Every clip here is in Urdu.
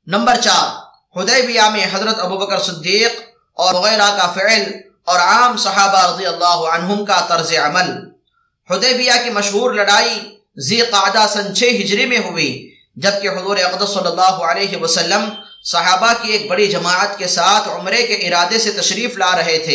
نمبر 4، حدیبیہ میں حضرت ابوبکر صدیق اور مغیرہ کا فعل اور عام صحابہ رضی اللہ عنہم کا طرز عمل۔ حدیبیہ کی مشہور لڑائی ذی قعدہ سن 6 ہجری میں ہوئی، جبکہ حضور اقدس صلی اللہ علیہ وسلم صحابہ کی ایک بڑی جماعت کے ساتھ عمرے کے ارادے سے تشریف لا رہے تھے۔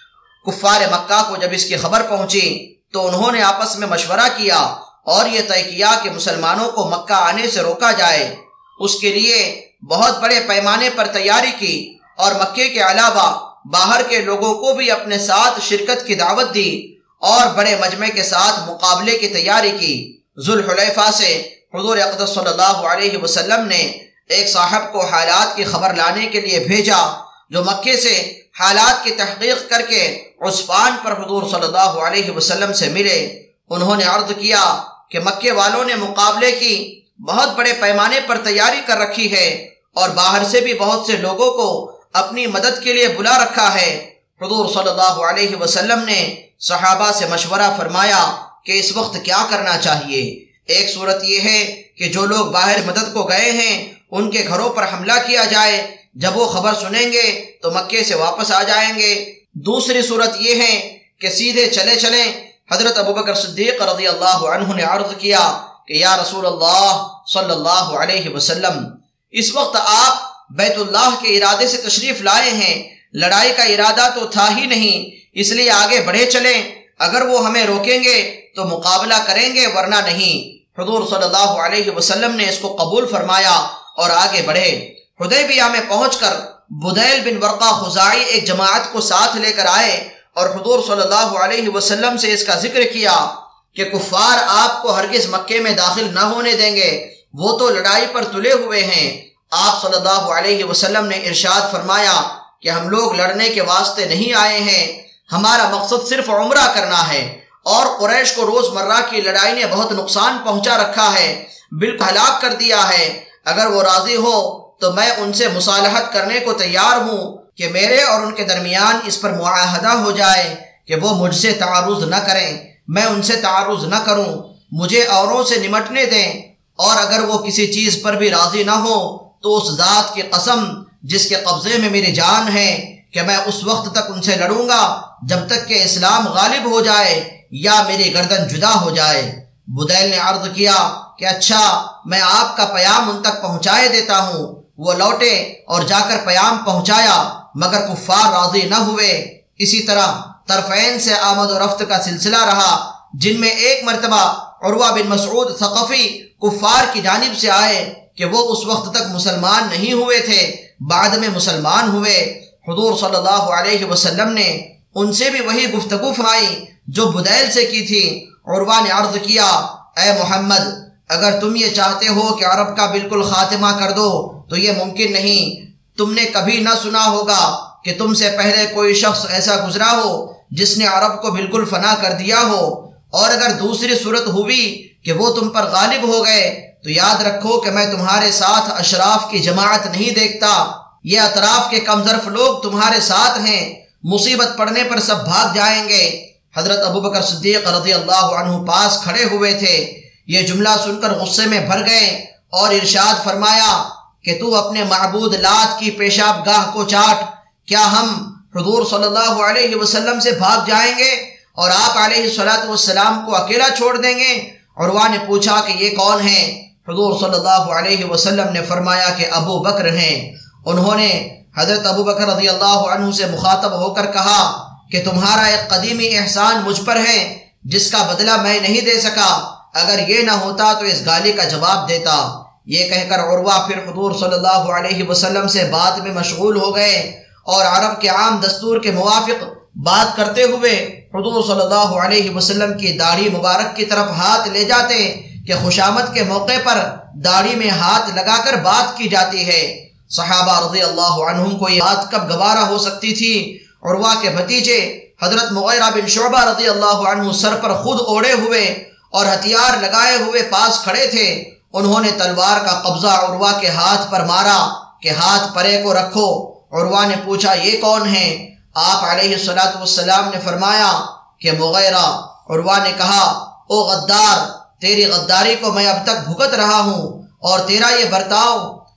کفار مکہ کو جب اس کی خبر پہنچی تو انہوں نے آپس میں مشورہ کیا اور یہ طے کیا کہ مسلمانوں کو مکہ آنے سے روکا جائے۔ اس کے لیے بہت بڑے پیمانے پر تیاری کی اور مکے کے علاوہ باہر کے لوگوں کو بھی اپنے ساتھ شرکت کی دعوت دی اور بڑے مجمع کے ساتھ مقابلے کی تیاری کی۔ ذوالحلیفہ سے حضور اقدس صلی اللہ علیہ وسلم نے ایک صاحب کو حالات کی خبر لانے کے لیے بھیجا، جو مکے سے حالات کی تحقیق کر کے عسفان پر حضور صلی اللہ علیہ وسلم سے ملے۔ انہوں نے عرض کیا کہ مکے والوں نے مقابلے کی بہت بڑے پیمانے پر تیاری کر رکھی ہے اور باہر سے بھی بہت سے لوگوں کو اپنی مدد کے لیے بلا رکھا ہے۔ حضور صلی اللہ علیہ وسلم نے صحابہ سے مشورہ فرمایا کہ اس وقت کیا کرنا چاہیے۔ ایک صورت یہ ہے کہ جو لوگ باہر مدد کو گئے ہیں ان کے گھروں پر حملہ کیا جائے، جب وہ خبر سنیں گے تو مکے سے واپس آ جائیں گے۔ دوسری صورت یہ ہے کہ سیدھے چلے چلیں۔ حضرت ابوبکر صدیق رضی اللہ عنہ نے عرض کیا کہ یا رسول اللہ صلی اللہ علیہ وسلم، اس وقت آپ بیت اللہ کے ارادے سے تشریف لائے ہیں، لڑائی کا ارادہ تو تھا ہی نہیں، اس لیے آگے بڑھے چلیں، اگر وہ ہمیں روکیں گے تو مقابلہ کریں گے ورنہ نہیں۔ حضور صلی اللہ علیہ وسلم نے اس کو قبول فرمایا اور آگے بڑھے۔ حدیبیہ میں پہنچ کر بدیل بن ورقہ خزاعی ایک جماعت کو ساتھ لے کر آئے اور حضور صلی اللہ علیہ وسلم سے اس کا ذکر کیا کہ کفار آپ کو ہرگز مکے میں داخل نہ ہونے دیں گے، وہ تو لڑائی پر تلے ہوئے ہیں۔ آپ صلی اللہ علیہ وسلم نے ارشاد فرمایا کہ ہم لوگ لڑنے کے واسطے نہیں آئے ہیں، ہمارا مقصد صرف عمرہ کرنا ہے، اور قریش کو روز مرہ کی لڑائی نے بہت نقصان پہنچا رکھا ہے، بالکل ہلاک کر دیا ہے۔ اگر وہ راضی ہو تو میں ان سے مصالحت کرنے کو تیار ہوں کہ میرے اور ان کے درمیان اس پر معاہدہ ہو جائے کہ وہ مجھ سے تعارض نہ کریں، میں ان سے تعارض نہ کروں، مجھے اوروں سے نمٹنے دیں، اور اگر وہ کسی چیز پر بھی راضی نہ ہو تو اس ذات کی قسم جس کے قبضے میں میری جان ہے کہ میں اس وقت تک ان سے لڑوں گا جب تک کہ اسلام غالب ہو جائے یا میری گردن جدا ہو جائے۔ بدیل نے عرض کیا کہ اچھا، میں آپ کا پیام ان تک پہنچائے دیتا ہوں۔ وہ لوٹے اور جا کر پیام پہنچایا، مگر کفار راضی نہ ہوئے۔ اسی طرح طرفین سے آمد و رفت کا سلسلہ رہا، جن میں ایک مرتبہ عروہ بن مسعود ثقفی کفار کی جانب سے آئے کہ وہ اس وقت تک مسلمان نہیں ہوئے تھے، بعد میں مسلمان ہوئے۔ حضور صلی اللہ علیہ وسلم نے ان سے بھی وہی گفتگو فرمائی جو بدیل سے کی تھی۔ عروہ نے عرض کیا، اے محمد، اگر تم یہ چاہتے ہو کہ عرب کا بالکل خاتمہ کر دو تو یہ ممکن نہیں۔ تم نے کبھی نہ سنا ہوگا کہ تم سے پہلے کوئی شخص ایسا گزرا ہو جس نے عرب کو بالکل فنا کر دیا ہو، اور اگر دوسری صورت ہوئی کہ وہ تم پر غالب ہو گئے تو یاد رکھو کہ میں تمہارے ساتھ اشراف کی جماعت نہیں دیکھتا، یہ اطراف کے کمظرف لوگ تمہارے ساتھ ہیں، مصیبت پڑنے پر سب بھاگ جائیں گے۔ حضرت ابوبکر صدیق رضی اللہ عنہ پاس کھڑے ہوئے تھے، یہ جملہ سن کر غصے میں بھر گئے اور ارشاد فرمایا کہ تو اپنے معبود لات کی پیشاب گاہ کو چاٹ، کیا ہم حضور صلی اللہ علیہ وسلم سے بھاگ جائیں گے اور آپ علیہ السلام کو اکیلا چھوڑ دیں گے؟ عروہ نے پوچھا کہ یہ کون ہیں؟ حضور صلی اللہ علیہ وسلم نے فرمایا کہ ابو بکر ہیں۔ انہوں نے حضرت ابو بکر رضی اللہ عنہ سے مخاطب ہو کر کہا کہ تمہارا ایک قدیمی احسان مجھ پر ہے جس کا بدلہ میں نہیں دے سکا، اگر یہ نہ ہوتا تو اس گالی کا جواب دیتا۔ یہ کہہ کر عروہ پھر حضور صلی اللہ علیہ وسلم سے بات میں مشغول ہو گئے اور عرب کے عام دستور کے موافق بات کرتے ہوئے حضور صلی اللہ علیہ وسلم کی داڑھی مبارک کی طرف ہاتھ لے جاتے کہ خوشامد کے موقع پر داڑھی میں ہاتھ لگا کر بات کی جاتی ہے۔ صحابہ رضی اللہ عنہم کو یہ بات کب گوارا ہو سکتی تھی؟ عروہ کے بھتیجے حضرت مغیرہ بن شعبہ رضی اللہ عنہ سر پر خود اوڑے ہوئے اور ہتھیار لگائے ہوئے پاس کھڑے تھے۔ انہوں نے تلوار کا قبضہ عروہ کے ہاتھ پر مارا کہ ہاتھ پرے کو رکھو۔ عروہ نے پوچھا یہ کون ہیں؟ آپ علیہ السلام نے فرمایا کہ مغیرہ۔ عروہ نے کہا او غدار، تیری غداری کو میں اب تک بھگت رہا ہوں اور تیرا یہ برتاؤ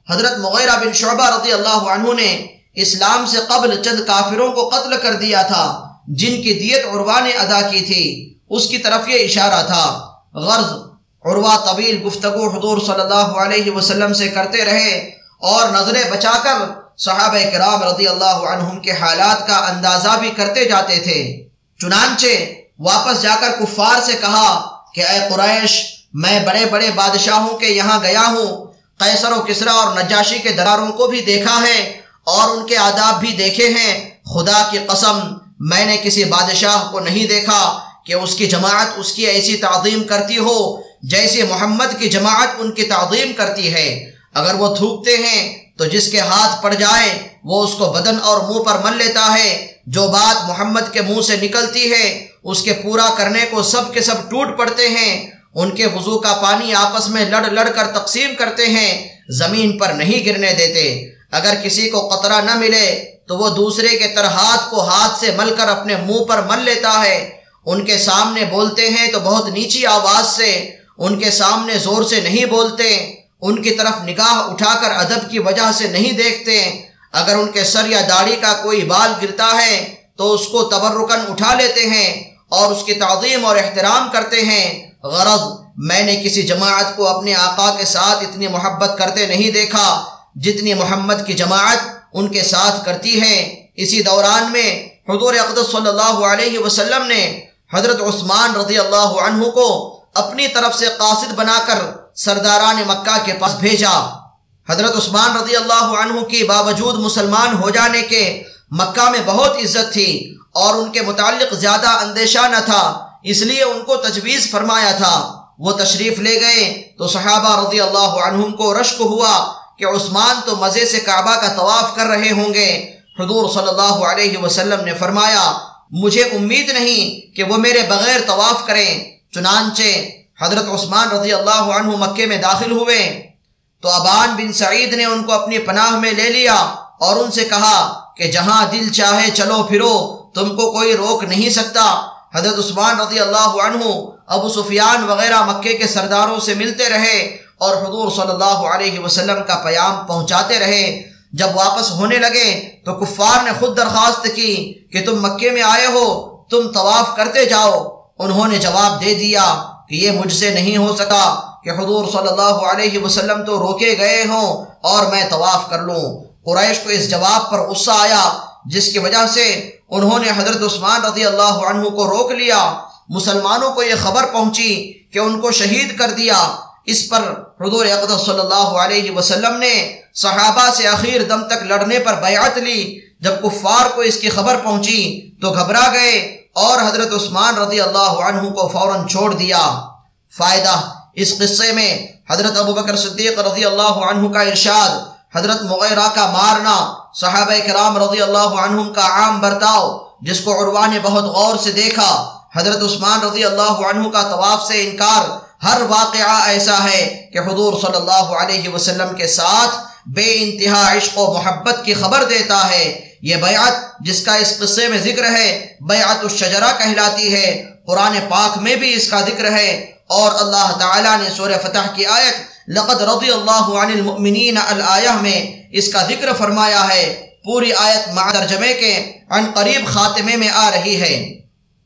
حضرت مغیرہ بن شعبہ رضی اللہ عنہ نے اسلام سے قبل چند کافروں کو قتل کر دیا تھا جن کی دیت عروہ نے ادا کی تھی، اس کی طرف یہ اشارہ تھا۔ غرض عروہ طویل گفتگو حضور صلی اللہ علیہ وسلم سے کرتے رہے اور نظریں بچا کر صحابہ کرام رضی اللہ عنہم کے حالات کا اندازہ بھی کرتے جاتے تھے۔ چنانچہ واپس جا کر کفار سے کہا کہ اے قریش، میں بڑے بڑے بادشاہوں کے یہاں گیا ہوں، قیصر و کسریٰ اور نجاشی کے درباروں کو بھی دیکھا ہے اور ان کے آداب بھی دیکھے ہیں۔ خدا کی قسم میں نے کسی بادشاہ کو نہیں دیکھا کہ اس کی جماعت اس کی ایسی تعظیم کرتی ہو جیسے محمد کی جماعت ان کی تعظیم کرتی ہے۔ اگر وہ تھوکتے ہیں تو جس کے ہاتھ پڑ جائے وہ اس کو بدن اور منہ پر مل لیتا ہے۔ جو بات محمد کے منہ سے نکلتی ہے اس کے پورا کرنے کو سب کے سب ٹوٹ پڑتے ہیں۔ ان کے وضو کا پانی آپس میں لڑ لڑ کر تقسیم کرتے ہیں، زمین پر نہیں گرنے دیتے۔ اگر کسی کو قطرہ نہ ملے تو وہ دوسرے کے ترہات کو ہاتھ سے مل کر اپنے منہ پر مل لیتا ہے۔ ان کے سامنے بولتے ہیں تو بہت نیچی آواز سے، ان کے سامنے زور سے نہیں بولتے، ان کی طرف نگاہ اٹھا کر ادب کی وجہ سے نہیں دیکھتے۔ اگر ان کے سر یا داڑھی کا کوئی بال گرتا ہے تو اس کو تبرکاً اٹھا لیتے ہیں اور اس کی تعظیم اور احترام کرتے ہیں۔ غرض میں نے کسی جماعت کو اپنے آقا کے ساتھ اتنی محبت کرتے نہیں دیکھا جتنی محمد کی جماعت ان کے ساتھ کرتی ہے۔ اسی دوران میں حضور اقدس صلی اللہ علیہ وسلم نے حضرت عثمان رضی اللہ عنہ کو اپنی طرف سے قاصد بنا کر سرداران مکہ کے پاس بھیجا۔ حضرت عثمان رضی اللہ عنہ کی باوجود مسلمان ہو جانے کے مکہ میں بہت عزت تھی اور ان کے متعلق زیادہ اندیشہ نہ تھا، اس لیے ان کو تجویز فرمایا تھا۔ وہ تشریف لے گئے تو صحابہ رضی اللہ عنہم کو رشک ہوا کہ عثمان تو مزے سے کعبہ کا طواف کر رہے ہوں گے۔ حضور صلی اللہ علیہ وسلم نے فرمایا مجھے امید نہیں کہ وہ میرے بغیر طواف کریں۔ چنانچہ حضرت عثمان رضی اللہ عنہ مکے میں داخل ہوئے تو ابان بن سعید نے ان کو اپنی پناہ میں لے لیا اور ان سے کہا کہ جہاں دل چاہے چلو پھرو، تم کو کوئی روک نہیں سکتا۔ حضرت عثمان رضی اللہ عنہ ابو سفیان وغیرہ مکے کے سرداروں سے ملتے رہے اور حضور صلی اللہ علیہ وسلم کا پیام پہنچاتے رہے۔ جب واپس ہونے لگے تو کفار نے خود درخواست کی کہ تم مکے میں آئے ہو، تم طواف کرتے جاؤ۔ انہوں نے جواب دے دیا کہ یہ مجھ سے نہیں ہو سکا کہ حضور صلی اللہ علیہ وسلم تو روکے گئے ہوں اور میں طواف کر لوں۔ قریش کو اس جواب پر غصہ آیا جس کی وجہ سے انہوں نے حضرت عثمان رضی اللہ عنہ کو روک لیا۔ مسلمانوں کو یہ خبر پہنچی کہ ان کو شہید کر دیا۔ اس پر حضور اقدس صلی اللہ علیہ وسلم نے صحابہ سے آخر دم تک لڑنے پر بیعت لی۔ جب کفار کو اس کی خبر پہنچی تو گھبرا گئے اور حضرت عثمان رضی اللہ عنہ کو فوراً چھوڑ دیا۔ فائدہ اس قصے میں حضرت ابوبکر صدیق رضی اللہ عنہ کا ارشاد، حضرت مغیرہ کا مارنا، صحابہ کرام رضی اللہ عنہم کا عام برتاؤ جس کو عروہ نے بہت غور سے دیکھا، حضرت عثمان رضی اللہ عنہ کا طواف سے انکار، ہر واقعہ ایسا ہے کہ حضور صلی اللہ علیہ وسلم کے ساتھ بے انتہا عشق و محبت کی خبر دیتا ہے۔ یہ بیعت جس کا اس قصے میں ذکر ہے بیعت الشجرہ کہلاتی ہے۔ قرآن پاک میں بھی اس کا ذکر ہے اور اللہ تعالیٰ نے سورہ فتح کی آیت لقد رضی اللہ عن المؤمنین الآیہ میں اس کا ذکر فرمایا ہے۔ پوری آیت مع ترجمے کے عن قریب خاتمے میں آ رہی ہے۔